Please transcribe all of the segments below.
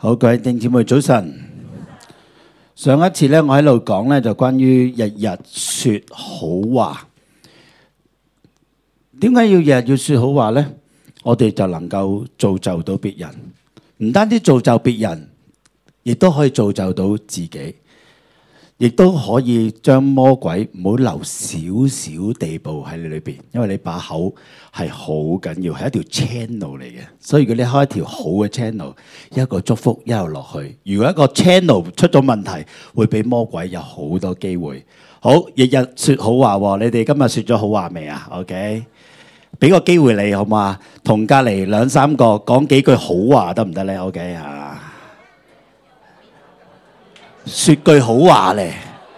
好，各位弟兄姊妹早晨。上一次咧，我喺度講咧，就關於日日說好話。點解要日日要說好話呢？我哋就能夠造就到別人，唔單止造就別人，亦都可以造就到自己，亦都可以將魔鬼唔好留少少地步喺你裏邊，因為你把口係好緊要，係一條 channel 嚟嘅。所以如果你開一條好嘅 channel， 一個祝福一路落去。如果一個 channel 出咗問題，會俾魔鬼有好多機會。好，日日說好話，你哋今日說咗好話未啊 ？OK， 俾個機會你好嘛？同隔籬兩三個講幾句好話得唔得咧 ？OK 啊，說句好話咧，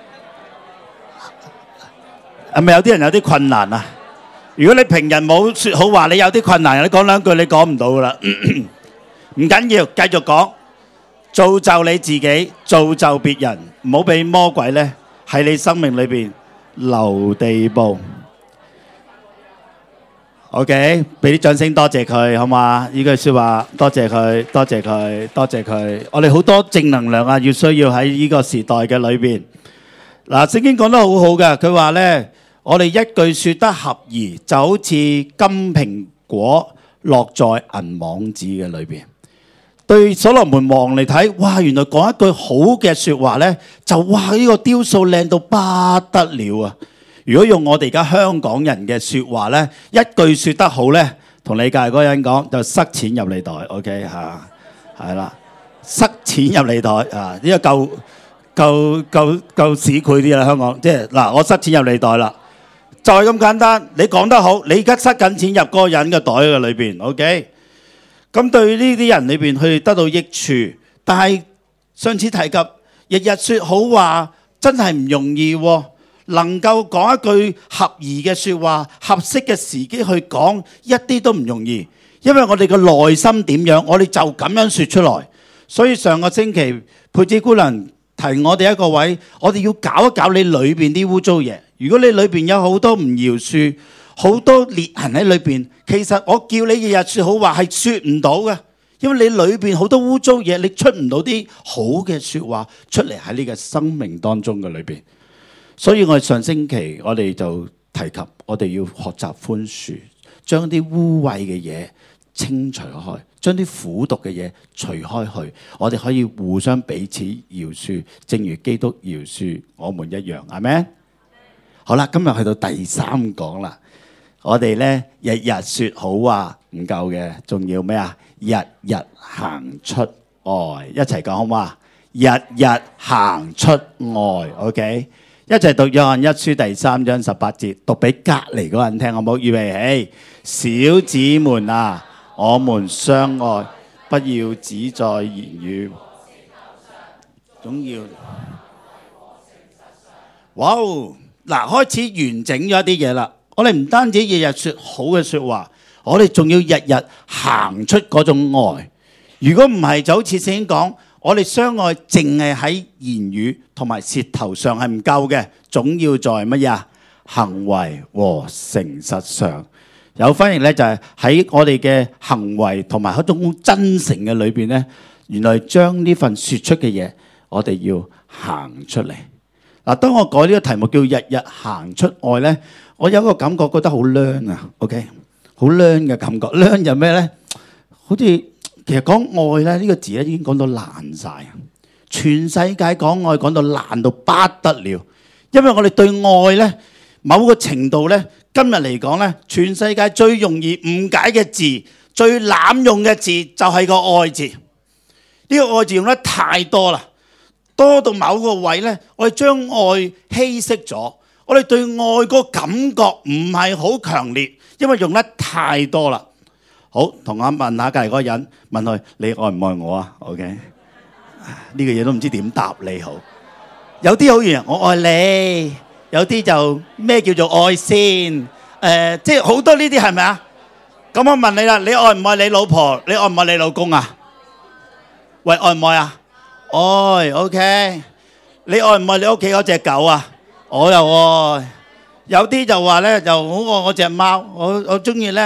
係咪有啲人有啲困難啊？如果你平日冇說好話，你有啲困難，你講兩句你講唔到噶啦。唔緊要，繼續講，造就你自己，造就別人，唔好俾魔鬼咧喺你生命裏邊留地步。OK， 俾啲掌聲，多謝佢，好嘛？呢句說話，多謝佢，多謝佢，多謝佢。我哋好多正能量啊，要需要喺呢個時代嘅裏邊。嗱，聖經講得好好嘅，佢話咧，我哋一句說得合宜，就好似金蘋果落在銀網子嘅裏邊。對所羅門王嚟睇，哇，原來講一句好嘅說話咧，就哇呢個雕塑靚到不得了啊！如果用我哋而家香港人嘅說話咧，一句說得好咧，同你隔籬嗰個人講就塞錢入你袋 ，OK 吓，係啦，塞錢入你袋啊！呢個夠市儈啲啦，香港即係嗱，我塞錢入你袋啦，就係咁簡單。你講得好，你而家塞緊錢入嗰個人嘅袋嘅裏邊 ，OK。咁對呢啲人裏邊去得到益處，但係上次提及日日說好話真係唔容易喎。能夠講一句合宜嘅說話，合適嘅時機去講，一啲都唔容易。因為我哋嘅內心點樣，我哋就咁樣說出來。所以上個星期佩子姑娘提我哋一個位，我哋要搞一搞你裏邊啲污糟嘢。如果你裏邊有好多唔饒恕，好多裂痕喺裏邊，其實我叫你日日說好話係說唔到嘅，因為你裏邊好多污糟嘢，你出唔到啲好嘅說話出嚟喺你嘅生命當中嘅裏邊。所以我哋上星期我哋就提及，我哋要學習寬恕，將啲污穢嘅嘢清除開，將啲苦毒嘅嘢除開去，我哋可以互相彼此饒恕，正如基督饒恕我們一樣，係咪？好啦，今日去到第三講啦，我哋咧日日說好話唔夠嘅，仲要咩啊？日日行出愛，一齊講好嘛？日日行出愛 ，OK。一齊讀約翰一書第3章18節，讀俾隔離嗰個人聽，好唔好？預備起，小子們啊，我們相愛，不要只在言語，總要。哇！嗱，開始完整咗一啲嘢啦。我哋唔單止日日說好嘅說話，我哋仲要日日行出嗰種愛。如果唔係，就好似聖經講。我哋相愛淨係喺言語同埋舌頭上係唔夠嘅，總要在乜嘢啊？行為和誠實上。有翻譯咧，就係喺我哋嘅行為同埋一種真誠嘅裏邊咧，原來將呢份說出嘅嘢，我哋要行出嚟。嗱，當我改呢個題目叫日日行出愛咧，我有一個感覺覺得好靚啊 ，OK， 好靚嘅感覺。靚就咩咧？好似。其實講愛咧呢個字咧已經講到爛晒，全世界講愛講到爛到不得了。因為我哋對愛咧某個程度咧，今日嚟講咧，全世界最容易誤解嘅字、最濫用嘅字就係個愛字。呢個愛字用得太多啦，多到某個位咧，我哋將愛稀釋咗。我哋對愛個感覺唔係好強烈，因為用得太多啦。好，同我問下隔離嗰個人，問佢你愛唔愛我啊 ？OK， 呢個嘢都唔知點答你好。有啲好遠，我愛你；有啲就咩叫做愛先？即係好多呢啲係咪啊？咁我問你啦，你愛唔愛你老婆？你愛唔愛你老公啊？喂，愛唔愛啊？愛 OK。你愛唔愛你屋企嗰隻狗啊？我又愛。有啲就話咧，就好愛我隻貓，我中意咧。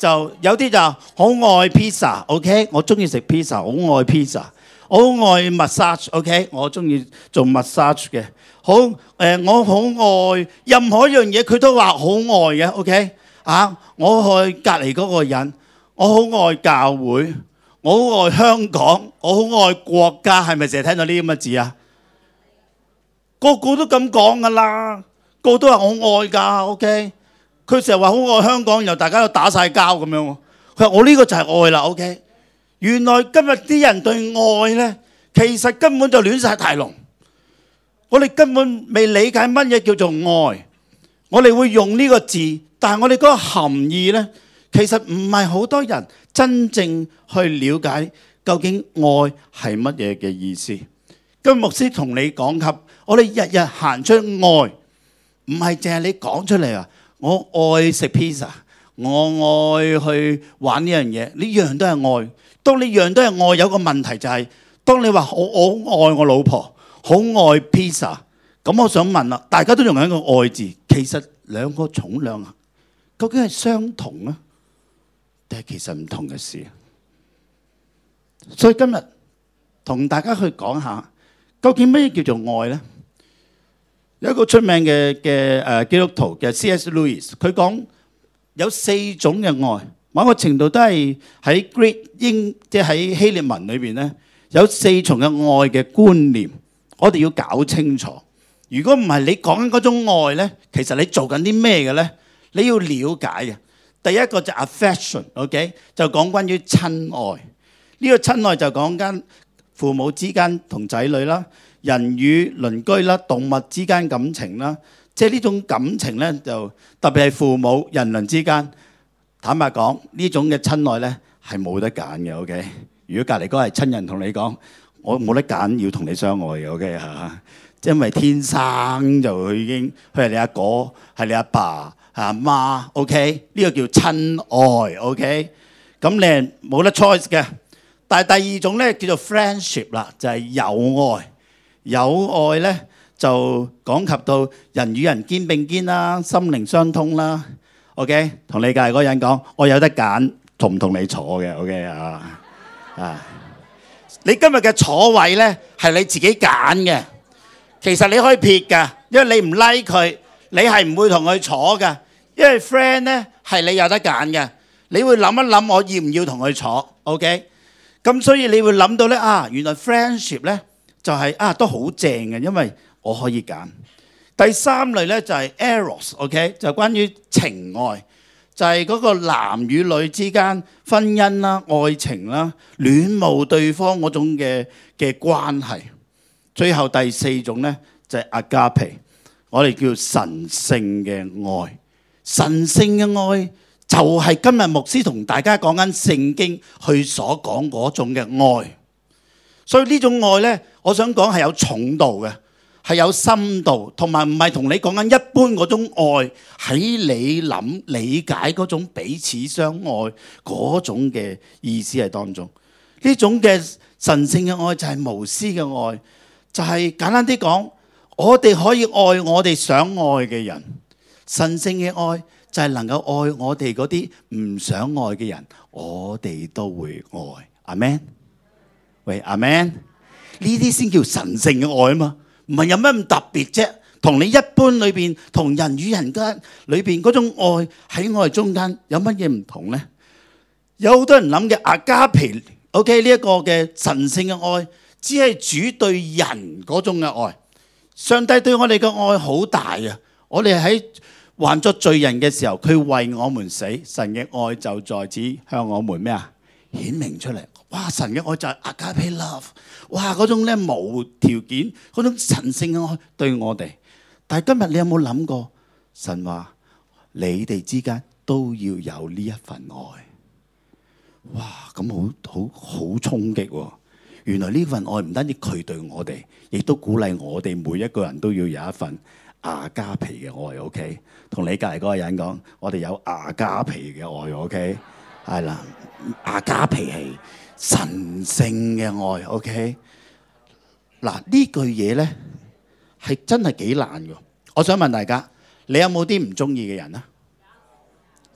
就有啲就好愛 pizza，OK，我中意食 pizza，好愛 pizza，我好愛 massage，OK，我中意做 massage 嘅。好我好愛任何一樣嘢，佢都話好愛嘅，OK 啊！我愛隔離嗰個人，我好愛教會，我好愛香港，我好愛國家，係咪成日聽到呢啲咁嘅字啊？個個都咁講噶啦，個個都話我愛㗎，OK。佢成日話好愛香港，然後大家都打晒交咁樣。佢話我呢個就係愛啦，OK。原來今日啲人對愛呢，其實根本就亂晒大龍。我哋根本未理解乜嘢叫做愛，我哋會用呢個字，但係我哋嗰個含義呢，其實唔係好多人真正去了解究竟愛係乜嘢嘅意思。今日牧師同你講及，我哋日日行出愛，唔係淨係你講出嚟啊！我愛食 pizza， 我愛去玩呢樣嘢，呢樣都係愛。當你樣都係愛，有個問題就係，當你話我愛我老婆，好愛 pizza， 咁我想問啦，大家都用緊個愛字，其實兩個重量啊，究竟係相同啊，定係其實唔同嘅事？所以今日同大家去講下，究竟乜嘢叫做愛呢？有一個出名嘅基督徒嘅 C.S. Lewis， 佢講有4種嘅愛，某個程度都係喺 Greek 即係喺希臘文裏邊咧，有4重嘅愛嘅觀念，我哋要搞清楚。如果唔係你講緊嗰種愛咧，其實你做緊啲咩嘅咧？你要了解嘅。第一個就 affection，OK， 就講關於親愛。呢個親愛就講緊父母之間同仔女啦。人與鄰居啦、動物之間感情啦，即係呢種感情咧，就特別係父母、人鄰之間。坦白講，呢種嘅親愛咧係冇得揀嘅。OK， 如果隔離嗰個係親人同你講，我冇得揀，要同你相愛嘅。OK 嚇，因為天生就佢已經佢係你阿哥，係你阿爸，係阿媽。OK，呢個叫親愛。OK，咁你係冇得 choice 嘅。但係第二種咧叫做 friendship 啦，就係友愛。友愛咧就講及到人與人肩並肩啦，心靈相通啦。OK， 同你隔離嗰個人講，我有得揀，同唔同你坐嘅。OK 啊，你今日嘅坐位咧係你自己揀嘅，其實你可以撇㗎，因為你唔 like 佢，你係唔會同佢坐㗎。因為 friend 咧係你有得揀嘅，你會諗一諗我要唔要同佢坐。OK， 咁所以你會諗到咧原來 friendship 咧。就係都好正嘅，因為我可以揀。第3類咧就係 eros，OK， 就關於情愛，就係嗰個男與女之間婚姻啦、愛情啦、戀慕對方嗰種嘅關係。最後第4種咧就係 agape， 我哋叫神聖嘅愛。神聖嘅愛就係今日牧師同大家講緊聖經去所講嗰種嘅愛。所以呢種愛咧，我想講係有重度嘅，係有深度，同埋唔係同你講緊一般嗰種愛，喺你諗理解嗰種彼此相愛嗰種嘅意思係當中。呢種嘅神聖嘅愛就係無私嘅愛，就係簡單啲講，我哋可以愛我哋想愛嘅人。神聖嘅愛就係能夠愛我哋嗰啲唔想愛嘅人，我哋都會愛。阿們。喂，阿們，呢啲先叫神聖嘅愛啊嘛，唔係有咩咁特別啫？同你一般裏邊，同人與人間裏邊嗰種愛喺我哋中間有乜嘢唔同呢？有好多人諗嘅agape，OK，呢一個嘅神聖嘅愛，只係主對人嗰種嘅愛。上帝對我哋嘅愛好大啊！我哋喺還作罪人嘅時候，佢為我們死，神嘅愛就在此向我們咩啊？顯明出嚟。哇！神嘅愛就係 agape love， 哇！嗰種咧無條件嗰種神聖嘅愛對我哋。但係今日你有冇諗過，神話你哋之間都要有呢一份愛？哇！咁好衝擊喎！原來呢份愛唔單止佢對我哋，亦都鼓勵我哋每一個人都要有一份亞加皮嘅愛。OK， 同你隔離嗰個人講，我哋有亞加皮嘅愛。OK， 係啦，亞加皮係神聖嘅愛。OK， 嗱呢句嘢咧係真係幾難嘅。我想問大家，你有冇啲唔中意嘅人啊？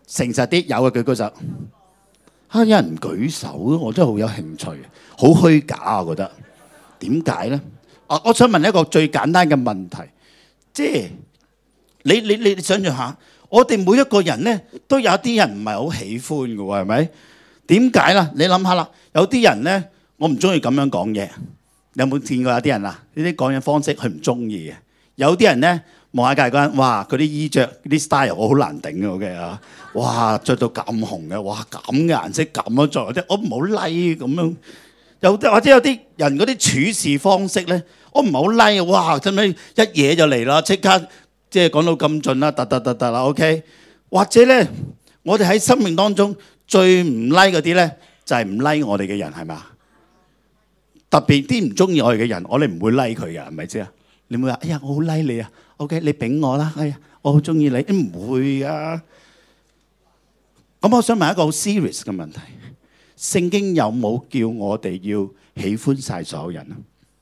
誠實啲，有嘅舉高手。有人唔舉手，我真係好有興趣，好虛假啊！我覺得點解咧？我想問一個最簡單嘅問題，即係你想象下，我哋每一個人咧都有啲人唔係好喜歡嘅喎，係咪？點解啦？你諗下啦，有啲人咧，我唔中意咁樣講嘢。你有冇見過有啲人啊？呢啲講嘢方式佢唔中意嘅。有啲人咧望下隔離嗰人，哇！佢啲衣著、啲 style 我好難頂嘅，OK啊？哇！著到咁紅嘅，哇！咁嘅顏色咁樣做，我唔好 like 咁樣。或者有啲人嗰啲處事方式咧，我唔係好 like 啊！哇！真係一嘢就嚟啦，即刻即係講到咁盡啦，突啦 ，OK？ 或者咧，我哋喺生命當中最唔 like 嗰啲咧，就係唔 like 我哋嘅人，係嘛？特別啲唔中意我哋嘅人，我哋唔會 like 佢嘅，係咪先啊？你唔會話，哎呀，我好 like 你啊 ，OK？ 你俾我啦，哎呀，我好中意你，唔會啊。咁我想問一個好 serious 嘅問題。聖經有冇叫我哋要喜歡晒所有人啊？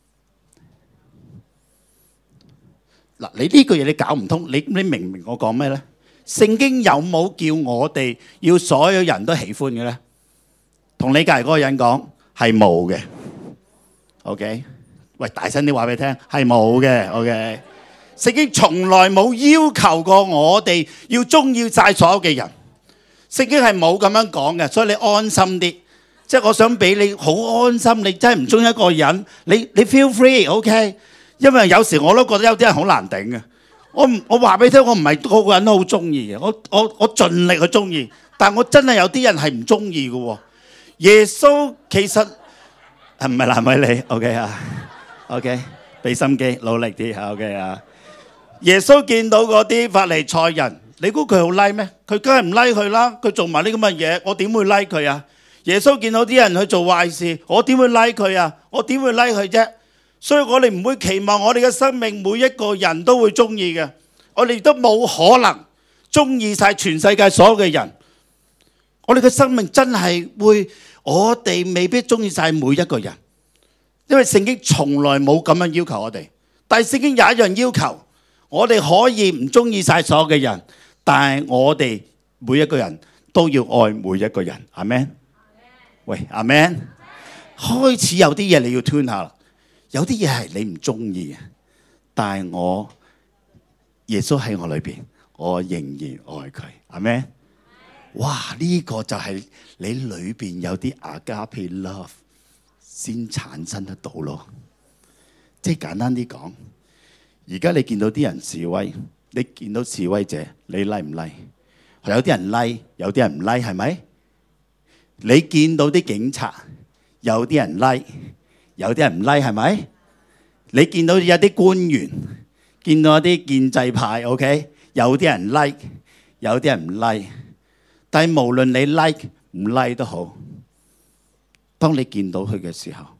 嗱，你呢句嘢你搞唔通，你明唔明我講咩咧？聖經有冇叫我哋要所有人都喜歡嘅咧？同你隔離嗰個人講係冇嘅。OK， 喂，大聲啲話俾你聽，係冇嘅。OK， 聖經從來冇要求過我哋要中意晒所有嘅人。聖經係冇咁樣講嘅，所以你安心啲。即係我想俾你好安心，你真係唔中意一個人，你 feel free，OK？ 因為有時我都覺得有啲人好難頂嘅。我話俾你聽，我唔係個個人都好中意嘅，我盡力去中意，但我真係有啲人係唔中意嘅。耶穌其實係唔係難為你 ？OK 啊 ？OK， 俾心機，努力啲 OK 啊？耶穌見到嗰啲法利賽人，你估佢好 like 咩？佢梗係唔 like 佢啦。佢做埋呢咁嘅嘢，我點會 like 佢啊？耶穌見到啲人去做壞事，我點會 like 佢啊？我點會 like 佢啫？所以我哋唔會期望我哋嘅生命每一個人都會中意嘅，我哋都冇可能中意晒全世界所有嘅人。我哋嘅生命真係會，我哋未必中意晒每一個人，因為聖經從來冇咁樣要求我哋。但係聖經有一樣要求，我哋可以唔中意晒所有嘅人，但係我哋每一個人都要愛每一個人。阿們。喂，阿 Man， 開始有啲嘢你要 tune 下啦，有啲嘢係你唔中意嘅，但係我耶穌喺我裏邊，我仍然愛佢，阿 Man。哇，呢個就係你裏邊有啲 agape love 先產生得到咯。即係簡單啲講，而家你見到啲人示威，你見到示威者，你 like 唔 like？有啲人 like， 有啲人唔 like， 係咪？你見到啲警察，有啲人 like， 有啲人唔 like， 係咪？你見到有啲官員，見到一啲建制派 ，OK， 有啲人 like， 有啲人唔 like。但係無論你 like 唔 like 都好，當你見到佢嘅時候，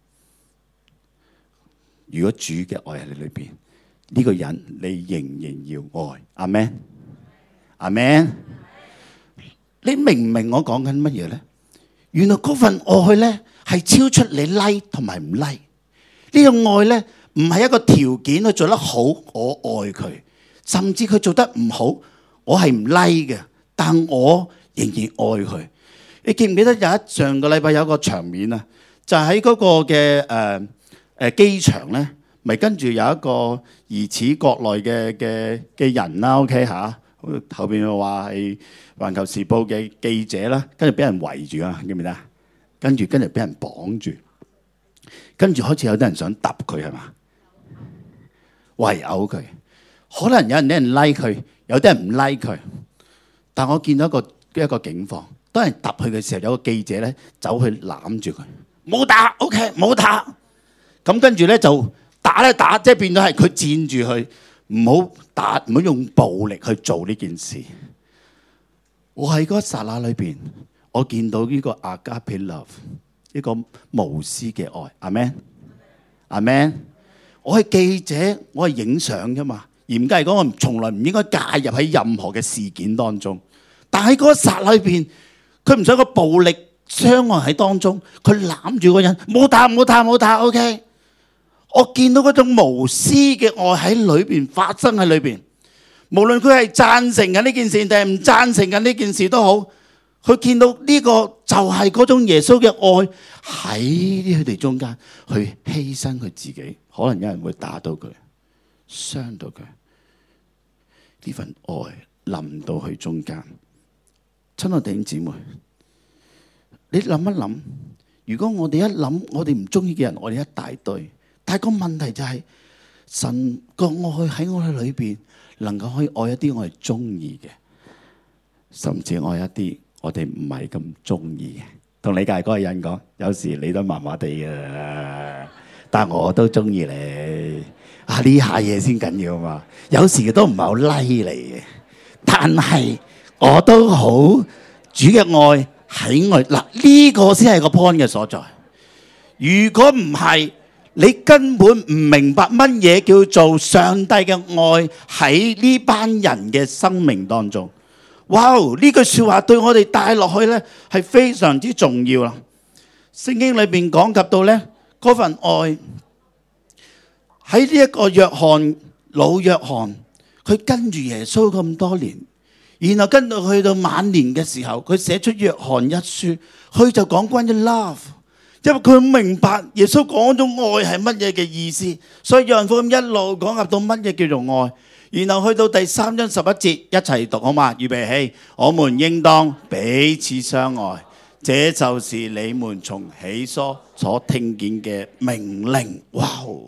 如果主嘅愛喺你裏邊，呢個人你仍然要愛。阿們，阿們，你明唔明我講緊乜嘢咧？原來嗰份愛咧係超出你 like 同埋唔 like。呢個愛咧唔係一個條件去做得好，我愛佢，甚至佢做得唔好，我係唔 like 嘅，但我仍然愛佢。你記唔記得上個禮拜有一個場面啊？就喺嗰個嘅機場咧，咪跟住有一個疑似國內嘅人啦 ，OK 嚇。後邊又話係環球時報嘅記者啦，跟住俾人圍住啊，記唔記得？跟住俾人綁住，跟住開始有啲人想揼佢係嘛，圍毆佢。可能有人 like 佢，有啲人唔 like 佢。但我見到一個警況，當人揼佢嘅時候，有個記者咧走去攬住佢，冇打 ，OK， 冇打。咁跟住咧就打咧打，即係變咗係佢佔住佢。唔好打，唔好用暴力去做呢件事。我喺嗰剎那裏邊，我見到呢個 agape love， 呢個無私嘅愛。阿們，阿們。我係記者，我係影相啫嘛。嚴格嚟講，我從來唔應該介入喺任何嘅事件當中。但喺嗰剎那裏邊，佢唔想個暴力傷害喺當中，佢攬住個人，冇打，冇打，冇打。OK。我見到嗰種無私嘅愛喺裏邊發生喺裏邊， 無論佢係贊成緊呢件事定係唔贊成緊呢件事都好，佢見到呢個就係嗰種耶穌嘅愛喺佢哋中間去犧牲佢自己，可能有人會打到佢，傷到佢，呢份愛臨到佢中間。親愛弟兄姊妹，你諗一諗，如果我哋一諗我哋唔中意嘅人，我哋一大堆，但係個問題就係神個愛喺我哋裏邊，能夠可以愛一啲我哋中意嘅，甚至愛一啲我哋唔係咁中意嘅。同你隔籬嗰個人講，有時你都麻麻地嘅，但係我都中意你。啊，呢下嘢先緊要嘛。有時都唔係好 like 你嘅，但係我都好主嘅愛喺我嗱，呢個先係個 point 嘅所在。如果唔係，你根本唔明白乜嘢叫做上帝嘅愛喺呢班人嘅生命當中。哇！呢句說話對我哋帶落去呢係非常之重要啦。聖經裏邊講及到呢嗰份愛喺呢一個老約翰，佢跟住耶穌咁多年，然後跟到去到晚年嘅時候，佢寫出約翰一書，佢就講關於 love。因為佢明白耶穌講種愛係乜嘢嘅意思，所以約翰福音一路講及到乜嘢叫做愛，然後去到第3章11節一齊讀好嘛？預備起，我們應當彼此相愛，這就是你們從起初所聽見嘅命令。哇！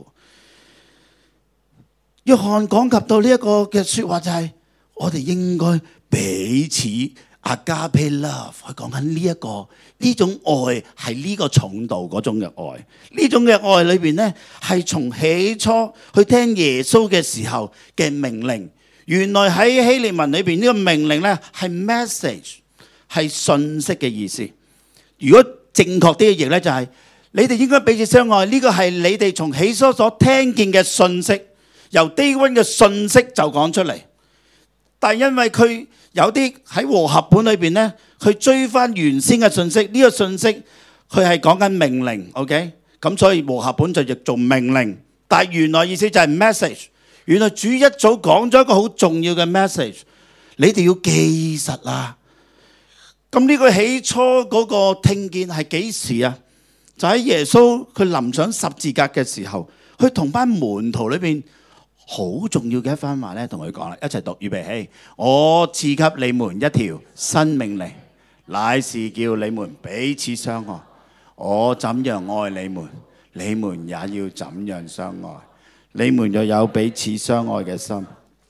約翰講及到呢一個嘅說話就係我哋應該彼此。Agape love， 佢講緊呢種愛係呢個重度嗰種嘅愛，呢種嘅愛裏邊呢，係從起初去聽耶穌嘅時候嘅命令。原來喺希臘文裏邊呢個命令呢係 message， 係信息嘅意思。如果正確啲嘅譯呢，就係你哋應該彼此相愛，呢個係你哋從起初所聽見嘅信息，由 day one 嘅信息就講出嚟。但係因為佢有啲喺和合本裏邊呢，佢追翻原先嘅信息，呢個信息佢係講緊命令 ，OK？ 咁所以和合本就譯做命令，但係原來意思就係 message。原來主一早講咗一個好重要嘅 message， 你哋要記實啊！咁呢個起初嗰個聽見係幾時啊？就喺耶穌佢臨上十字架嘅時候，佢同班門徒裏邊。好重要嘅一番話咧，同佢講啦，一齊讀，預備起，我賜給你們一條新命令，乃是叫你們彼此相愛。我怎樣愛你們，你們也要怎樣相愛。你們若有彼此相愛嘅心。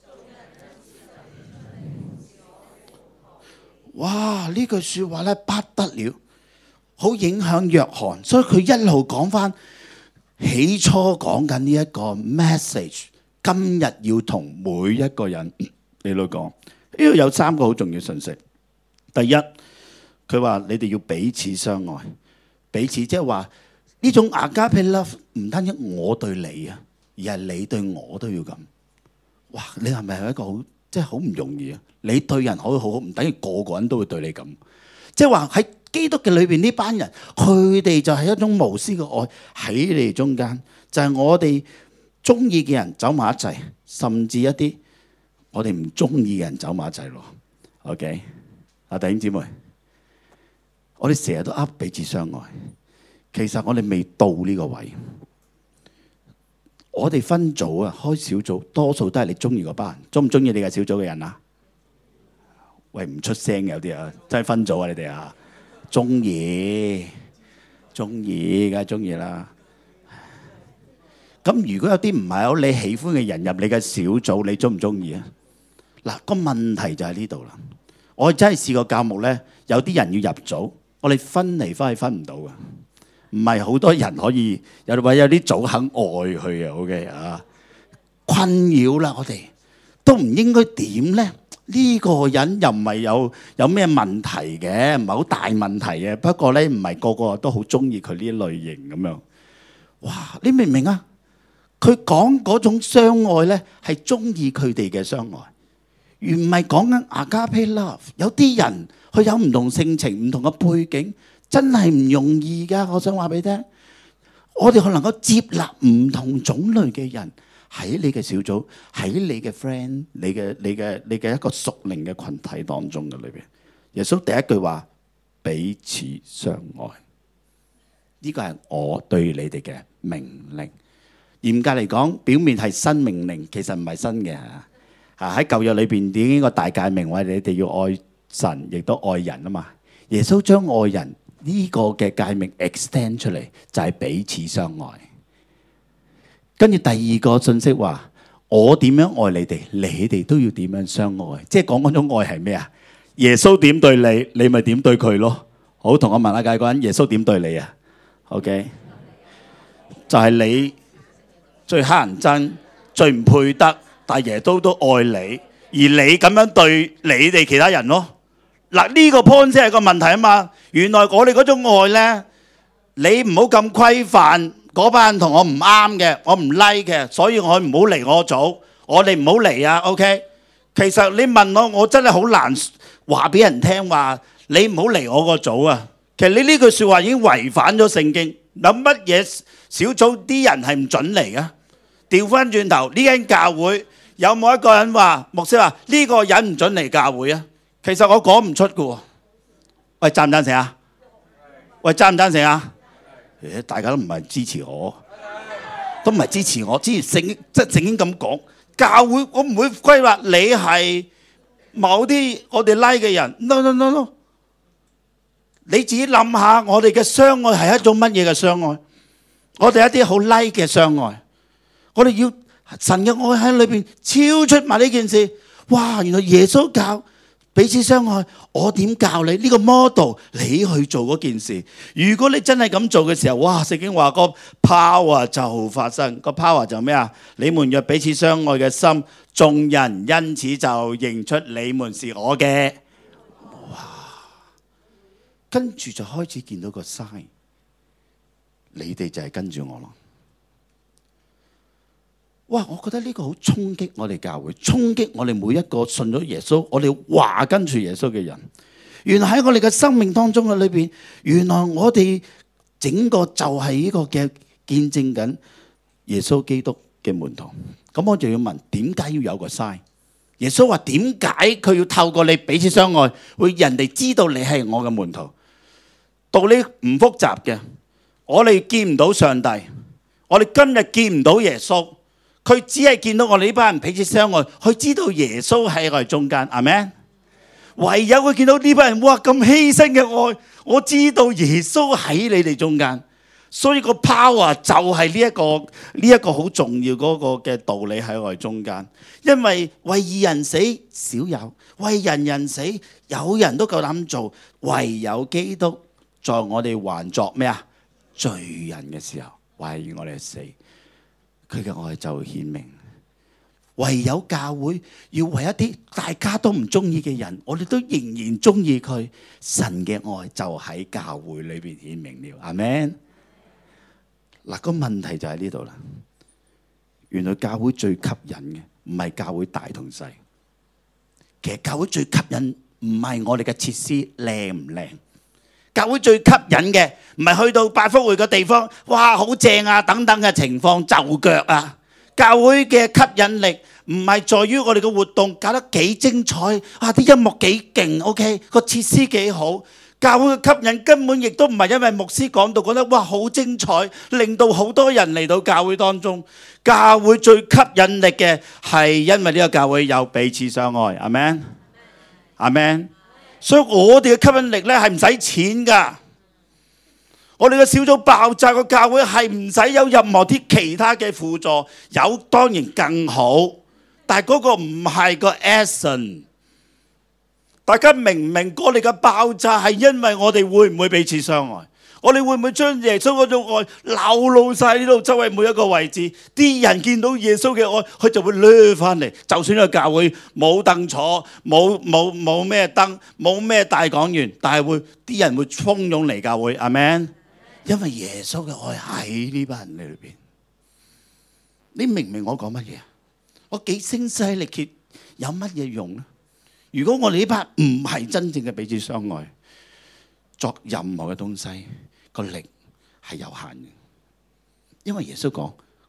哇！呢句說話咧不得了，好影響約翰，所以佢一路講翻起初講緊呢一個 message。今日要同每一個人嚟到講，呢度有3個好重要信息。第一，佢話你哋要彼此相愛，彼此即係話呢種 Agape love 唔單止我對你啊，而係你對我都要咁。哇！你係咪一個好即係好唔容易啊？你對人可以好好，唔等於個個人都會對你咁。即係話喺基督嘅裏邊呢班人，佢哋就係一種無私嘅愛喺你哋中間，就係我哋。中意嘅人走埋一齊，甚至一啲我哋唔中意嘅人走埋一齊咯。OK， 弟兄姊妹，我哋成日都噏彼此相愛，其實我哋未到呢個位。我哋分組啊，開小組，多數都係你中意嗰班人。中唔中意你嘅小組嘅人啊？喂，唔出聲嘅有啲啊，真係分組啊！你哋啊，中意，梗係中意啦。咁如果有啲唔係好你喜歡嘅人入你嘅小組，你中唔中意啊？嗱，個問題就喺呢度啦。我真係試過教牧咧，有啲人要入組，我哋分嚟分去分唔到嘅，唔係好多人可以有啲組肯愛佢嘅。OK 啊，困擾啦，我哋都唔應該點咧？呢個人又唔係有咩問題嘅，唔係好大問題嘅。不過咧，唔係個個都好中意佢呢類型咁樣。哇！你明唔明啊？佢講嗰種相愛咧，係中意佢哋嘅相愛，而唔係講緊 Agape love。有啲人佢有唔同性情、唔同嘅背景，真係唔容易噶。我想話俾你聽，我哋可能夠接納唔同種類嘅人喺你嘅小組，喺你嘅 friend，你嘅一個屬靈嘅群體當中嘅裏邊，耶穌第一句話彼此相愛，呢個係我對你哋嘅命令。嚴格嚟講，表面係新命令，其實唔係新嘅。喺舊約裏邊已經個大誡命，話你哋要愛神，亦都愛人啊嘛。耶穌將愛人呢個嘅誡命 extend 出嚟，就係彼此相愛。跟住第二個信息話，我點樣愛你哋，你哋都要點樣相愛。即係講嗰種愛係咩啊？耶穌點對你，你咪點對佢咯。好，同我問下界嗰人，耶穌點對你啊 ？OK， 就係你最乞人憎、最唔配得，但係耶穌都愛你，而你咁樣對你哋其他人咯。嗱，呢個 point 先係個問題啊嘛。原來我哋嗰種愛呢，你唔好咁規範嗰班人同我唔啱嘅，我唔 like 嘅，所以我唔好嚟我組，我哋唔好嚟啊。OK， 其實你問我，我真係好難話俾人聽話，你唔好嚟我個組啊。其實你呢句説話已經違反咗聖經。有乜嘢小組啲人係唔準嚟嘅？調翻轉頭，呢間教會有冇一個人話牧師話呢個人唔準嚟教會啊？其實我講唔出嘅喎。喂，贊唔贊成啊？喂，贊唔贊成啊？大家都唔係支持我，都唔係支持我。之前聖經咁講，教會我唔會規劃你係某啲我哋 like 嘅人。No no no no， 你自己諗下，我哋嘅相愛係一種乜嘢嘅相愛？我哋一啲好 like 嘅相愛，我哋要神嘅愛喺裏邊超出埋呢件事。哇！原來耶穌教彼此相愛，我點教你呢個 model？ 你去做嗰件事。如果你真係咁做嘅時候，哇！聖經話個 power 就發生，個 power 就咩啊？你們若彼此相愛嘅心，眾人因此就認出你們是我嘅。哇！跟住就開始見到個 sign， 你哋就係跟住我咯。哇！我覺得呢個好衝擊我哋教會，衝擊我哋每一個信咗耶穌，我哋話跟住耶穌嘅人。原來喺我哋嘅生命當中嘅裏邊，原來我哋整個就係呢個嘅見證緊耶穌基督嘅門徒。咁我就要問，點解要有個 sign？ 耶穌話點解佢要透過你彼此相愛，會人哋知道你係我嘅門徒？道理唔複雜嘅，我哋見唔到上帝，我哋今日見唔到耶穌。佢只係見到我哋呢班人彼此相愛，佢知道耶穌喺我哋中間，阿們。唯有佢見到呢班人，哇咁犧牲嘅愛，我知道耶穌喺你哋中間，所以個 power 就係呢一個好重要嗰個嘅道理喺我哋中間。因為為義人死少有，為人死有人都夠膽做，唯有基督在我哋還作咩啊？罪人嘅時候，為我哋死。佢嘅愛就顯明，唯有教會要為一啲大家都唔中意嘅人，我哋都仍然中意佢。神嘅愛就喺教會裏邊顯明了，阿們。嗱，個問題就喺呢度啦。原來教會最吸引嘅唔係教會大同細，其實教會最吸引唔係我哋嘅設施靚唔靚。教會最吸引嘅唔係去到百福匯嘅地方，哇好正啊等等嘅情況就腳啊。教會嘅吸引力唔係在於我哋嘅活動搞得幾精彩，啊啲音樂幾勁 ，OK 個設施幾好。教會嘅吸引根本亦都唔係因為牧師講道講得哇好精彩，令到好多人嚟到教會當中。教會最吸引力嘅係因為呢個教會有彼此相愛，阿們，阿們。所以我哋嘅吸引力咧係唔使錢噶，我哋嘅小組爆炸個教會係唔使有任何啲其他嘅輔助，有當然更好，但係嗰個唔係個 essence。大家明唔明？我哋嘅爆炸係因為我哋會唔會彼此相愛？我哋會唔會將耶穌嗰種愛流露晒呢度周圍每一個位置？啲人見到耶穌嘅愛，佢就會掠翻嚟。就算個教會冇凳坐，冇咩燈，冇咩大講員，但係啲人會蜂擁嚟教會。阿們，因為耶穌嘅愛喺呢班人裏邊。你明唔明我講乜嘢？我幾聲嘶力竭有乜嘢用呢？如果我哋呢班唔係真正嘅彼此相愛，作任何嘅東西，個力係有限嘅，因為耶穌講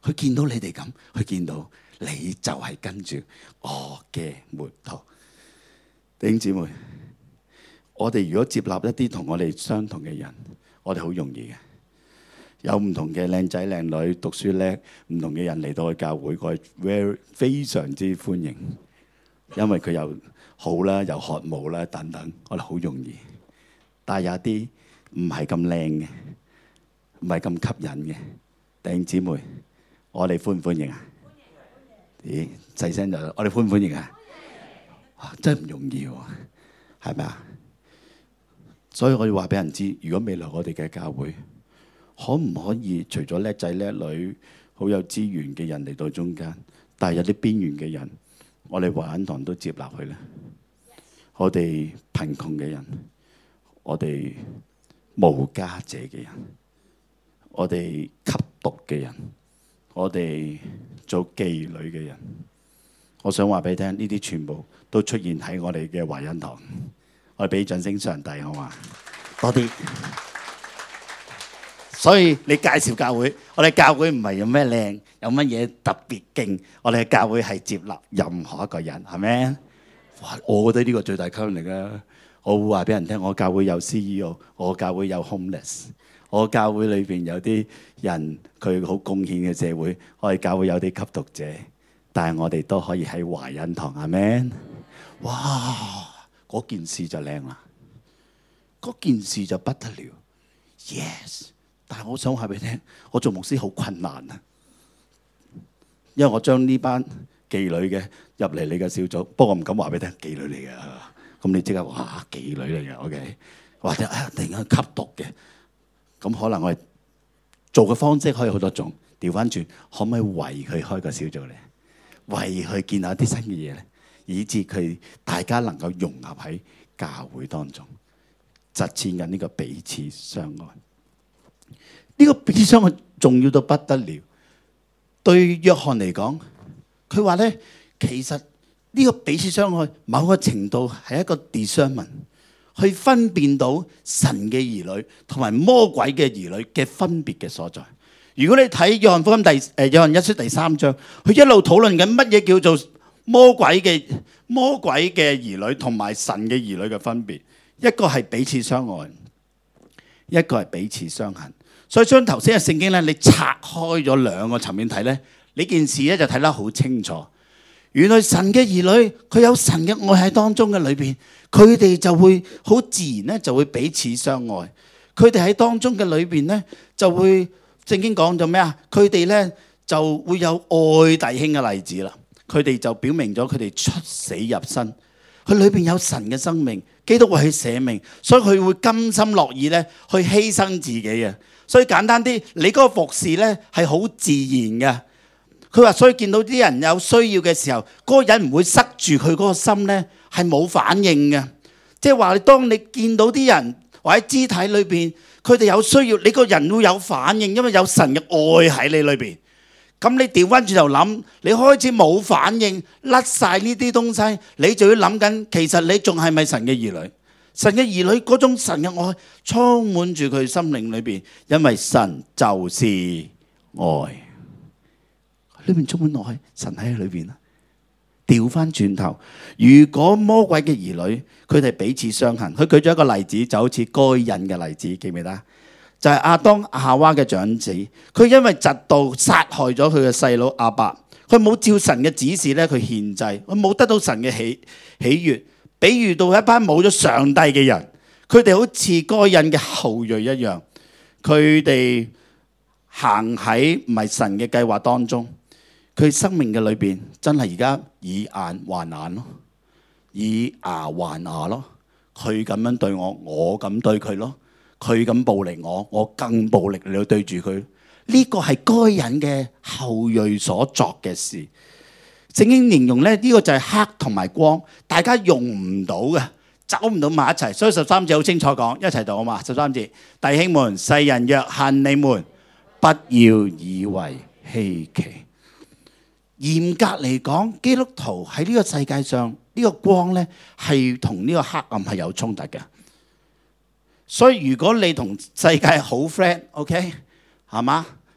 佢見到你哋咁，佢見到你就係跟住我嘅門徒。弟兄姊妹，我哋如果接納一啲同我哋相同嘅人，我哋好容易嘅。有唔同嘅靚仔靚女，讀書叻，唔同嘅人嚟到去教會，我係非常之歡迎，因為佢又好啦，又渴慕啦等等，我哋好容易。但係有啲唔係咁靚嘅，唔係咁吸引嘅弟兄姊妹，我哋歡唔歡迎啊？咦，細聲就我哋歡唔歡迎啊？真係唔容易喎，係咪啊？所以我要話俾人知，如果未來我哋嘅教會，可唔可以除咗叻仔叻女、好有資源嘅人嚟到中間，但係有啲邊緣嘅人，我哋華恩堂都接納佢咧？我哋貧窮嘅人，我哋無家者嘅人，我哋吸毒嘅人，我哋做妓女嘅人，我想話俾你聽，呢啲全部都出現喺我哋嘅華恩堂。我哋俾掌聲上帝好嘛？多啲。所以你介紹教會，我哋教會唔係有咩靚，有乜嘢特別勁，我哋嘅教會係接納任何一個人，係咪？哇！我覺得呢個最大吸引力啊！我會話俾人聽，我教會有 CEO， 我教會有 homeless， 我教會裏邊有啲人佢好貢獻嘅社會，我哋教會有啲吸毒者，但係我哋都可以喺華恩堂，係咪？哇！嗰件事就靚啦，嗰件事就不得了 ，yes！ 但係我想話俾你聽，我做牧師好困難啊，因為我將呢班妓女嘅入嚟你嘅小組，不過我唔敢話俾你聽妓女嚟嘅，咁你即刻哇妓女嚟嘅 ，OK？ 或者突然間吸毒嘅，咁可能我哋做嘅方式可以好多種，調翻轉可唔可以為佢開個小組咧？為佢見下啲新嘅嘢咧，以致佢大家能夠融合喺教會當中，實踐緊呢個彼此相愛。呢個彼此相愛重要到不得了。對約翰嚟講，佢話咧，其實呢個彼此相愛某個程度係一個 discernment， 去分辨到神嘅兒女同埋魔鬼嘅兒女嘅分別嘅所在。如果你睇約翰福音約翰一書第3章，佢一路討論緊乜嘢叫做魔鬼嘅兒女同埋神嘅兒女嘅分別。一個係彼此相愛，一個係彼此相恨。所以將頭先嘅聖經咧，你拆開咗兩個層面睇咧，呢件事咧就睇得好清楚。原來神嘅兒女佢有神嘅愛喺當中嘅裏邊，佢哋就會好自然咧就會彼此相愛。佢哋喺當中嘅裏邊咧就會聖經講咗咩啊？佢哋咧就會有愛弟兄嘅例子啦。佢哋就表明咗佢哋出死入生，佢裏邊有神嘅生命，基督為佢捨命，所以佢會甘心樂意咧去犧牲自己嘅。所以簡單啲，你嗰個服侍咧係好自然嘅。佢話，所以見到啲人有需要嘅時候，嗰個人唔會塞住佢嗰個心咧，係冇反應嘅。即係話，當你見到啲人或者肢體裏邊，佢哋有需要，你個人會有反應，因為有神嘅愛喺你裏邊。咁你調翻轉頭諗，你開始冇反應，甩晒呢啲東西，你就要諗緊，其實你仲係咪神嘅兒女？神嘅兒女嗰種神嘅愛充滿住佢心靈裏邊，因為神就是愛，裏面充滿愛，神喺裏邊啊。調翻轉頭，如果魔鬼嘅兒女佢哋彼此相恨，佢舉咗一個例子，就好似該隱嘅例子，記唔記得？就係亞當夏娃嘅長子，佢因為嫉妒殺害咗佢嘅細佬亞伯，佢冇照神嘅指示咧，佢獻祭，佢冇得到神嘅喜悅。比喻到一班冇咗上帝嘅人，佢哋好似該隱嘅後裔一樣，佢哋行喺唔係神嘅計劃當中，佢生命嘅裏邊真係而家以眼還眼咯，以牙還牙咯。佢咁樣對我，我咁對佢咯。佢咁暴力我，我更暴力嚟對住佢。呢個係該隱嘅後裔所作嘅事。聖經形容咧，呢個就係黑同埋光，大家用唔到嘅，走唔到埋一齊。所以13節好清楚講，一齊讀好嘛？13節，弟兄們，世人若恨你們，不要以為稀奇。嚴格嚟講，基督徒喺呢個世界上，呢個光咧係同呢個黑暗係有衝突嘅。所以如果你同世界好 friend，OK，係嘛？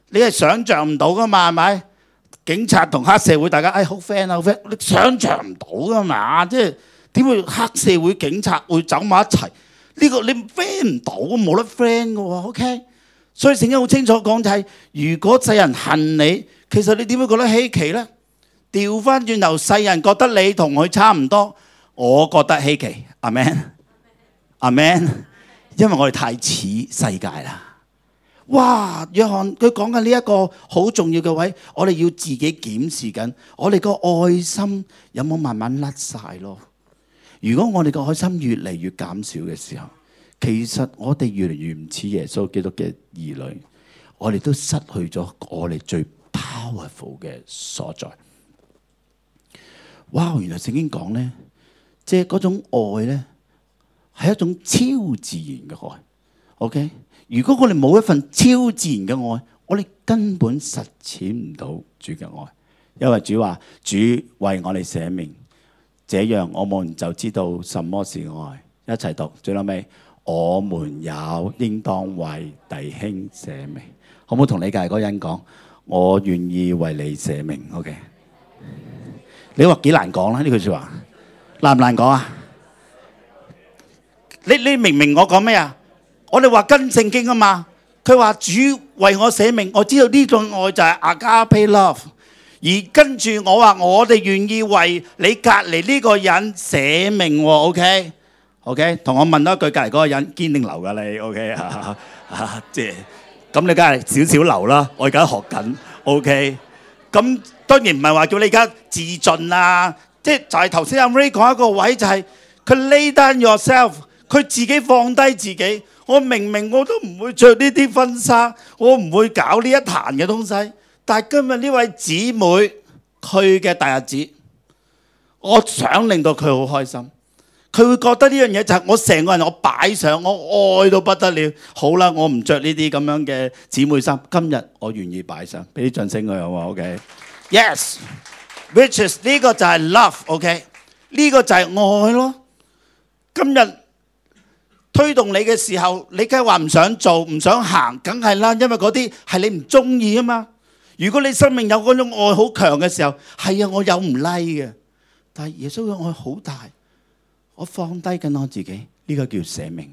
你係想像唔到噶嘛，係咪？警察同黑社會大家好 friend 啊，好 friend，你想像唔到噶嘛？即係點會黑社會警察會走埋一齊？呢個你 friend 唔到，冇得 friend 噶喎。OK， 所以聖經好清楚講就係，如果世人恨你，其實你點會覺得稀奇呢？調翻轉頭，世人覺得你同佢差唔多，我覺得稀奇。阿們，阿們，因為我哋太似世界啦。哇！約翰佢講緊呢一個好重要嘅位，我哋要自己檢視緊，我哋個愛心有冇慢慢甩晒咯？如果我哋個愛心越嚟越減少嘅時候，其實我哋越嚟越唔似耶穌基督嘅兒女，我哋都失去咗我哋最 powerful 嘅所在。哇！原來聖經講呢，即係嗰種愛呢，係一種超自然嘅愛。OK？如果我哋冇一份超自然嘅愛，我哋根本實踐唔到主嘅愛。因為主話：主為我哋捨命，這樣我們就知道什麼是愛。一齊讀，最後尾，我們也應當為弟兄捨命。好唔好同你隔離嗰個人講？我願意為你捨命。OK？ 你話幾難講啦？呢句説話難唔難講啊？你明唔明我講咩啊？我哋話跟聖經啊嘛，佢話主為我捨命，我知道呢種愛就係 agape love。而跟住我話我哋願意為你隔離呢個人捨命喎。OK，同我問多一句，隔離嗰個人堅定流㗎你 OK 即係咁，你梗係少少流啦。我而家學緊 OK， 咁當然唔係話叫你而家自盡啊，即係就係頭先阿 Ray 講一個位，就係佢 lay down yourself， 佢自己放低自己。我明我都唔會着呢啲婚紗，我唔會搞呢一壇嘅東西。但係今日呢位姊妹佢嘅大日子，我想令到佢好開心。佢會覺得呢樣嘢就係我成個人我擺上，我愛到不得了。好啦，我唔着呢啲咁樣嘅姊妹衫，今日我願意擺上，俾啲掌聲佢好嘛 ？OK，Yes，which is 呢個就係 love。OK， 呢個就係愛咯。今日推動你嘅時候，你梗係話唔想做，唔想行，梗係啦，因為嗰啲係你唔中意啊嘛。如果你生命有嗰種愛好強嘅時候，係啊，我有唔 like 嘅，但係耶穌嘅愛好大，我放低緊我自己，呢個叫捨命。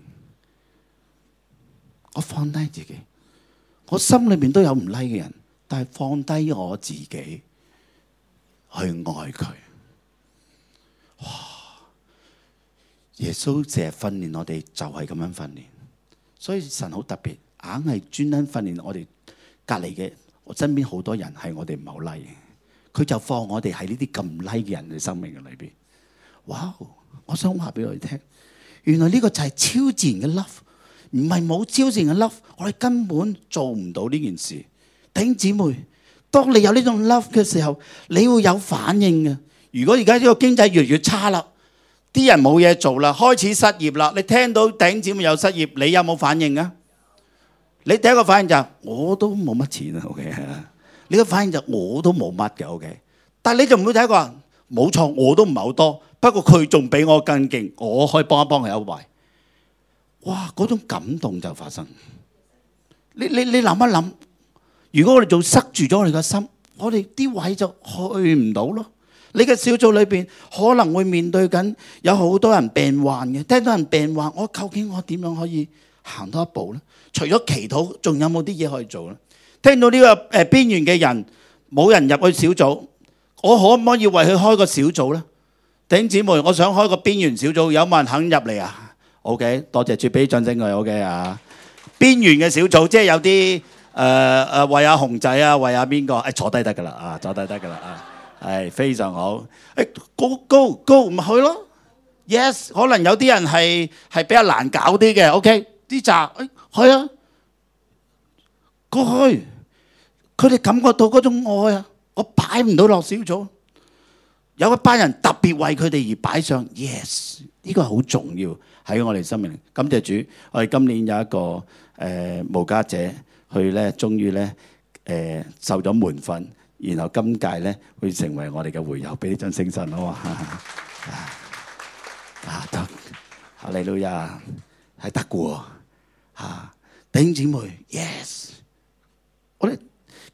我放低自己，我心裏面都有唔 like 嘅人，但係放低我自己去愛佢。哇！耶穌成日訓練我哋就係咁樣訓練，所以神好特別，硬係專登訓練我哋隔離嘅。我身邊好多人係我哋唔係好 like 嘅，佢就放我哋喺呢啲咁 like 嘅人嘅生命嘅裏邊。哇！我想話俾我哋聽，原來呢個就係超自然嘅 love， 唔係冇超自然嘅 love， 我哋根本做唔到呢件事。弟兄姊妹，當你有呢種 love 嘅時候，你會有反應嘅。如果而家呢個經濟越嚟越差啦，啲人冇嘢做啦，開始失業啦，你聽到弟兄姊妹有失業，你有冇反應啊？你第一個反應就係我都冇乜錢啊 ，OK？ 你個反應就我都冇乜嘅 ，OK？ 但係你就唔會睇過，冇錯，我都唔係好多，不過佢仲比我更勁，我可以幫一幫佢一位。哇！嗰種感動就發生。你諗一諗，如果我哋仲塞住咗我哋個心，我哋啲位就去唔到咯。你嘅小組裏邊可能會面對緊有好多人病患嘅，聽到人病患，我究竟我點樣可以行多一步呢？除咗祈禱，仲有冇啲嘢可以做呢？聽到呢個邊緣嘅人冇人入去小組，我可唔可以為佢開個小組呢？弟兄姊妹，我想開個邊緣小組，有冇人肯入嚟啊 ？OK， 多謝主俾掌聲佢 OK 啊！邊緣嘅小組即係有啲為阿熊仔啊，為阿邊個？坐低得噶啦啊，坐低得噶啦啊，係非常好。go 咪去咯 ！Yes， 可能有啲人係比較難搞啲嘅 OK。啲扎，係啊，過去，佢哋感覺到嗰種愛啊，我擺唔到落小組，有一班人特別為佢哋而擺上 ，yes， 呢個係好重要喺我哋生命。感謝主，我哋今年有一個無家者，佢咧終於咧受咗門訓，然後今屆咧會成為我哋嘅會友，俾啲掌聲神好嘛？得，哈利路亞，係得嘅喎。弟兄姊妹 ，yes， 我哋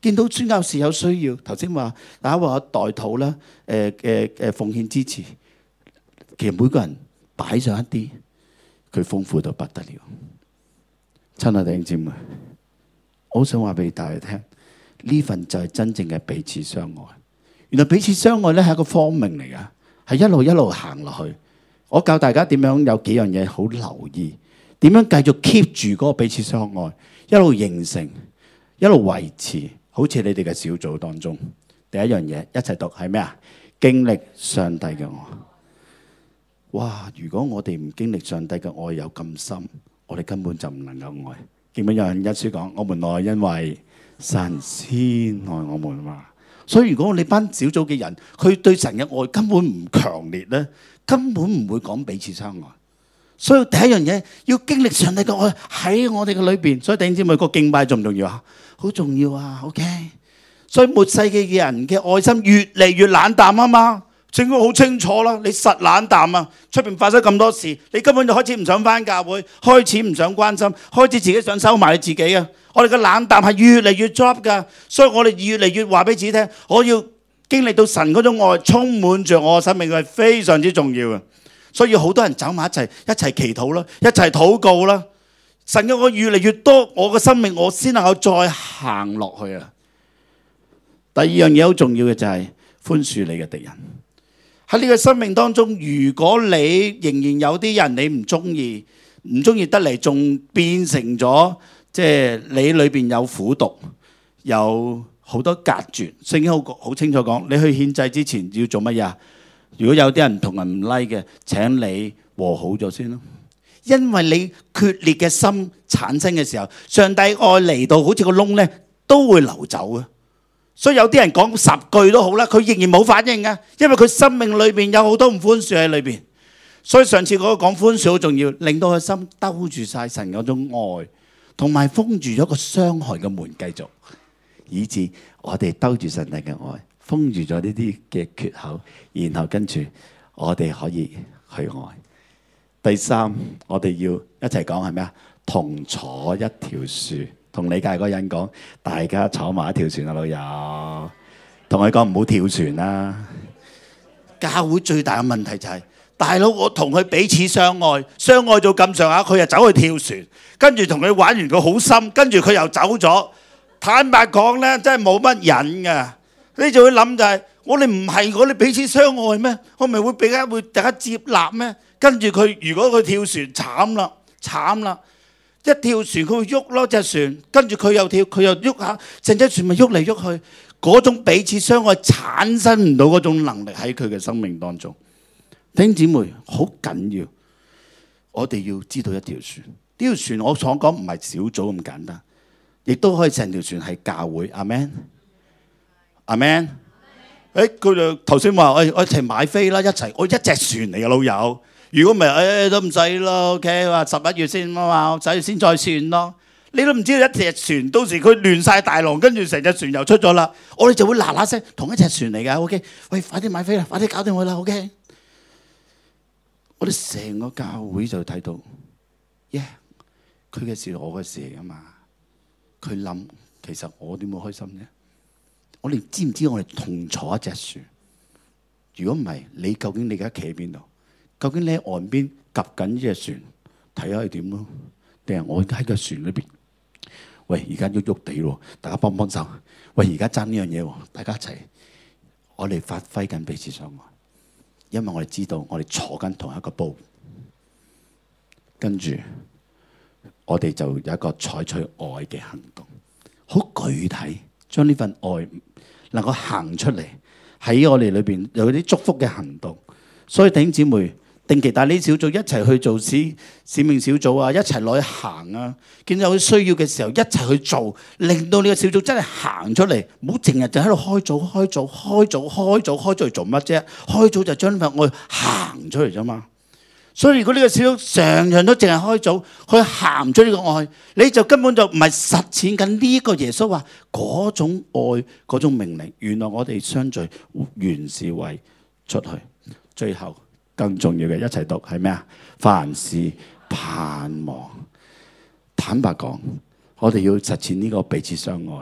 見到宣教士有需要，頭先話大家話代禱啦，奉獻支持，其實每個人擺上一啲，佢豐富到不得了。親愛弟兄姊妹，我好想話俾大家聽，呢份就係真正嘅彼此相愛。原來彼此相愛咧係一個方命嚟噶，係一路一路行落去。我教大家點樣有幾樣嘢好留意，點樣繼續 keep 住嗰個彼此相愛，一路形成，一路維持。好似你哋嘅小組當中，第一樣嘢一齊讀係咩啊？經歷上帝嘅愛。哇！如果我哋唔經歷上帝嘅愛有咁深，我哋根本就唔能夠愛。記唔記得有人一書講：我們愛，因為神先愛我們嘛。所以如果我哋班小組嘅人，佢對神嘅愛根本唔強烈咧，根本唔會講彼此相愛。所以第一樣嘢要經歷上帝嘅愛喺我哋嘅裏邊。所以弟兄姊妹，個敬拜重唔重要啊？好重要啊 ！OK。所以末世嘅人嘅愛心越嚟越冷淡啊嘛。聖經好清楚啦，你實冷淡啊！出邊發生咁多事，你根本就開始唔想返教會，開始唔想關心，開始自己想收埋你自己啊！我哋嘅冷淡係越嚟越 drop 噶，所以我哋越嚟越話俾自己聽，我要經歷到神嗰種愛充滿着我嘅生命，係非常之重要嘅。所以好多人走埋一齊，一齊祈禱啦，一齊禱告啦。神嘅愛越嚟越多，我嘅生命我先能夠再行落去啊！第二樣嘢好重要嘅就係寬恕你嘅敵人。喺呢個生命當中，如果你仍然有啲人你唔中意得嚟，仲變成咗即係你裏邊有苦毒，有好多隔絕。聖經好清楚講，你去獻祭之前要做乜嘢？如果有啲人同人唔 like 嘅，請你和好咗先咯。因為你決裂嘅心產生嘅時候，上帝愛嚟到好似個窿咧，都會流走嘅。所以有啲人講10句都好啦，佢仍然冇反應嘅，因為佢生命裏邊有好多唔寬恕喺裏邊。所以上次嗰個講寬恕好重要，令到佢心兜住晒神嗰種愛，同埋封住咗個傷害嘅門，繼續，以致我哋兜住神帝嘅愛，封住咗呢啲嘅缺口，然後跟住我哋可以去愛。第三，我哋要一齊講係咩啊？同坐一條船。同理解嗰個人講，大家坐埋一條船啊，老友。同佢講唔好跳船啦。教會最大嘅問題就係，大佬我同佢彼此相愛，相愛到咁上下，佢又走去跳船，跟住同佢玩完佢好深，跟住佢又走咗。坦白講咧，真係冇乜癮㗎。你就會諗就係，我哋唔係我哋彼此相愛咩？我咪會大家接納咩？跟住佢如果佢跳船，慘啦！一跳船佢會喐咯，隻船，跟住佢又跳，佢又喐下，成隻船咪喐嚟喐去。嗰種彼此相愛產生唔到嗰種能力喺佢嘅生命當中。弟兄姊妹，好緊要，我哋要知道一條船。呢條船我所講唔係小組咁簡單，亦都可以成條船係教會。阿們，阿們。佢哋頭先話，我一齊買飛啦，我一隻船嚟嘅老友。如果唔係，都唔使咯。OK，話11月先啊嘛，11月先再算咯。你都唔知道一隻船，到時佢亂晒大浪，跟住成隻船又出咗啦。我哋就會嗱嗱聲同一隻船嚟㗎。OK，喂，快啲買飛啦，快啲搞掂佢啦。OK，我哋成個教會就睇到，佢嘅事我嘅事嚟㗎嘛。佢諗，其實我點會開心啫？我哋知唔知我哋同坐一隻船？如果唔係，你究竟你而家企喺邊度？究竟你喺岸邊夾緊呢隻船，睇下係點咯？定係我喺個船裏邊？喂，而家喐喐地喎，大家幫幫手。喂，而家爭呢樣嘢喎，大家一齊，我哋發揮緊彼此相愛，因為我哋知道我哋坐緊同一個煲，跟住我哋就有一個採取愛嘅行動，好具體，將呢份愛能夠行出嚟喺我哋裏邊有啲祝福嘅行動。所以弟兄姊妹，定期帶呢小組一齊去做使命小組啊，一齊落去行啊，見到有需要嘅時候一齊去做，令到呢個小組真係行出嚟，唔好淨係就喺度開組嚟做乜啫？開組就將呢份愛行出嚟啫嘛。所以如果呢個小組常常都淨係開組去行出呢個愛，你就根本就唔係實踐緊呢個耶穌話嗰種愛嗰種命令。原來我哋相聚原是為出去。最後更重要嘅一齊讀係咩啊？凡事盼望。坦白講，我哋要實踐呢個彼此相愛，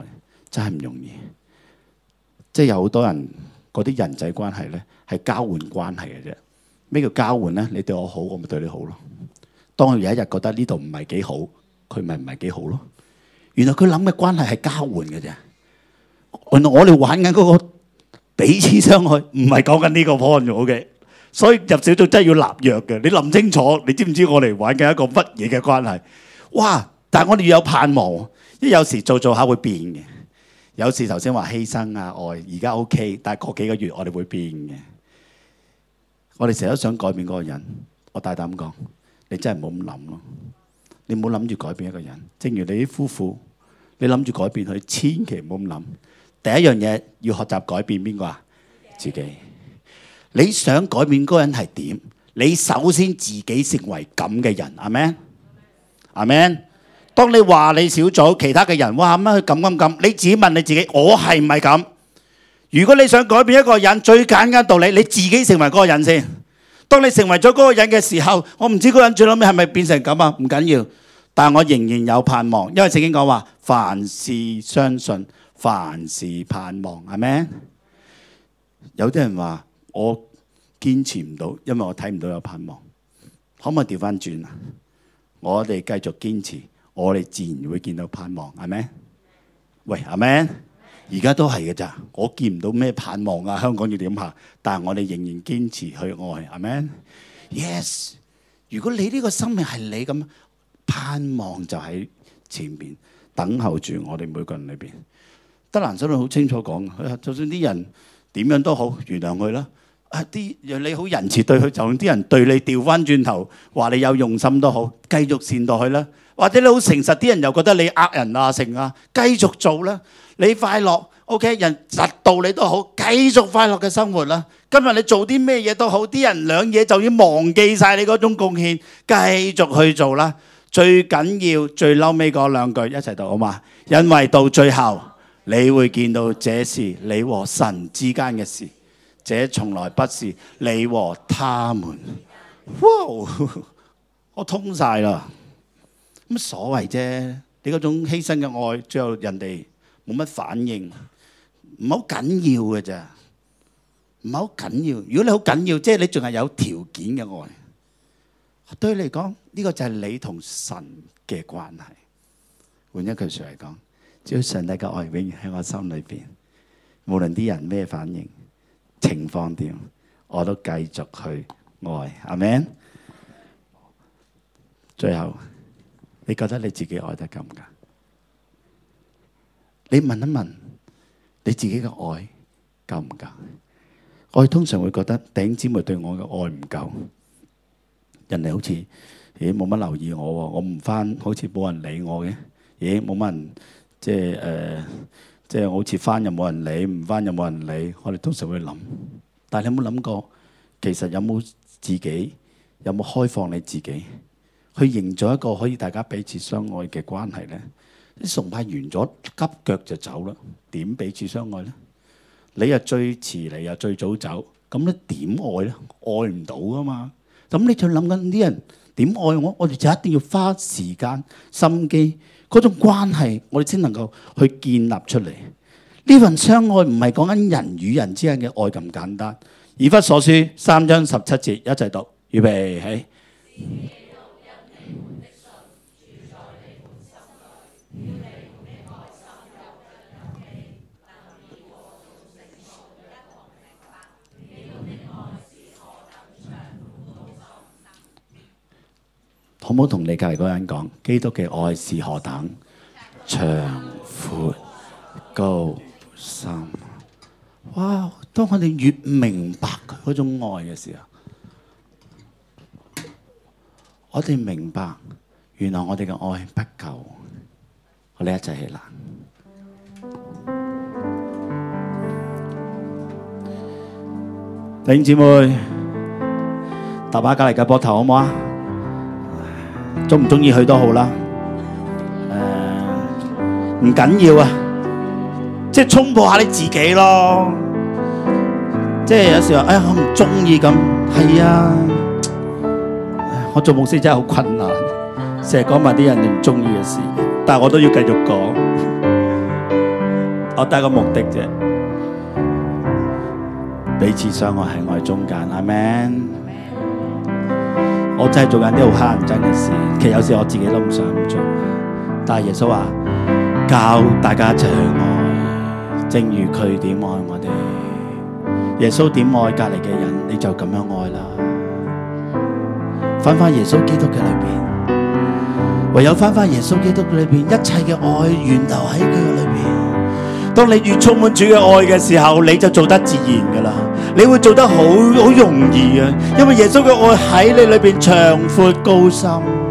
真係唔容易。即係有好多人嗰啲人際關係咧係交換關係嘅啫。咩叫交換咧？你對我好，我咪對你好咯。當佢有一日覺得呢度唔係幾好，佢咪唔係幾好咯。原來佢諗嘅關係係交換嘅啫。原來我哋玩緊嗰個彼此相愛，唔係講緊呢個 point OK。所以入小組真係要立約嘅。你諗清楚，你知唔知我哋玩緊一個乜嘢嘅關係？哇！但係我哋要有盼望，因為有時做下會變嘅。有時頭先話犧牲啊愛，而家 OK， 但係過幾個月我哋會變嘅。我哋成日都想改變嗰個人，我大膽講，你真係唔好咁諗咯。你唔好諗住改變一個人，正如你啲夫婦，你諗住改變佢，千祈唔好咁諗。第一樣嘢要學習改變邊個啊？自己。你想改變嗰個人係點？你首先自己成為咁嘅人，阿們，阿們。當你話你小組其他嘅人，哇乜佢咁，你自己問你自己，我係唔係咁？如果你想改變一個人，最簡單道理，你自己成為嗰個人先。當你成為咗嗰個人嘅時候，我唔知嗰個人最後尾係咪變成咁啊？唔緊要，但係我仍然有盼望，因為聖經講話，凡事相信，凡事盼望，係咪？有啲人話我堅持唔到，因為我睇唔到有盼望。可唔可以調翻轉啊？我哋繼續堅持，我哋自然會見到盼望，係咪？喂，係咪？而家都係嘅咋，我見唔到咩盼望啊！香港要點行？但係我哋仍然堅持去愛，係咪 ？Yes， 如果你呢個生命係你咁，盼望就喺前面等候住我哋每個人裏邊。德蘭修女好清楚講，就算啲人點樣都好，原諒佢啦。啲讓你好仁慈對佢，就算啲人對你調翻轉頭話你有用心都好，繼續善待佢啦。或者你好誠實，啲人又覺得你呃人啊成啊，繼續做啦。你快樂 ，OK， 人窒到你都好，繼續快樂嘅生活啦。今日你做啲咩嘢都好，啲人兩嘢就已經忘記晒你嗰種貢獻，繼續去做啦。最緊要最嬲尾嗰兩句一齊讀好嘛？因為到最後你會見到這是你和神之間嘅事，這從來不是你和他們。哇！我通晒啦，乜所謂啫？你嗰種犧牲嘅愛，最後人哋冇乜反應，唔好緊要嘅咋，唔係好緊要。如果你好緊要，即係你仲係有條件嘅愛。對你嚟講，呢個就係你同神嘅關係。換一句說嚟講，只要上帝嘅愛永遠喺我心裏邊，無論啲人咩反應、情況點，我都繼續去愛。阿們。最後，你覺得你自己愛得夠唔夠？你問一問你自己嘅愛夠唔夠？我哋通常會覺得弟兄姊妹對我嘅愛唔夠，人哋好似冇乜留意我喎，我唔返好似冇人理我嘅，冇乜人即係好似返又冇人理，唔返又冇人理。我哋通常會諗，但係你有冇諗過，其實有冇自己有冇開放你自己去營造一個可以大家彼此相愛嘅關係呢？啲崇拜完咗，急腳就走啦，點彼此相愛呢？你又最遲嚟，又最早走，咁你點愛呢？愛唔到噶嘛？咁你就諗緊啲人點愛我？我哋就一定要花時間心機，嗰種關係我哋先能夠去建立出嚟。呢份相愛唔係講緊人與人之間嘅愛咁簡單。以弗所書3章17節一齊讀，預備起。好唔好同你隔離嗰個人講，基督嘅愛是何等長闊高深？哇！當我哋越明白佢嗰種愛嘅時候，我哋明白原來我哋嘅愛不夠。我哋一齊起立，弟兄姊妹，搭把隔離嘅膊頭好唔好啊？中唔中意去都好啦，唔緊要啊，即係衝破下你自己咯。即係有時候，我唔中意咁，係啊，我做牧師真係好困難，成日講埋啲人哋唔中意嘅事，但係我都要繼續講。 我得個目的啫，彼此相愛喺我哋中間，阿們。我真係做緊啲好乞人憎嘅事，其實有時我自己都唔想做，但係耶穌話教大家一齊去愛，正如佢點愛我哋。耶穌點愛隔離嘅人，你就咁樣愛啦。返返耶穌基督嘅裏邊，唯有返返耶穌基督嘅裏邊，一切嘅愛源流喺佢嘅裏邊。當你越充滿主嘅愛嘅時候，你就做得自然噶啦，你會做得好容易啊，因為耶穌嘅愛喺你裏邊長闊高深。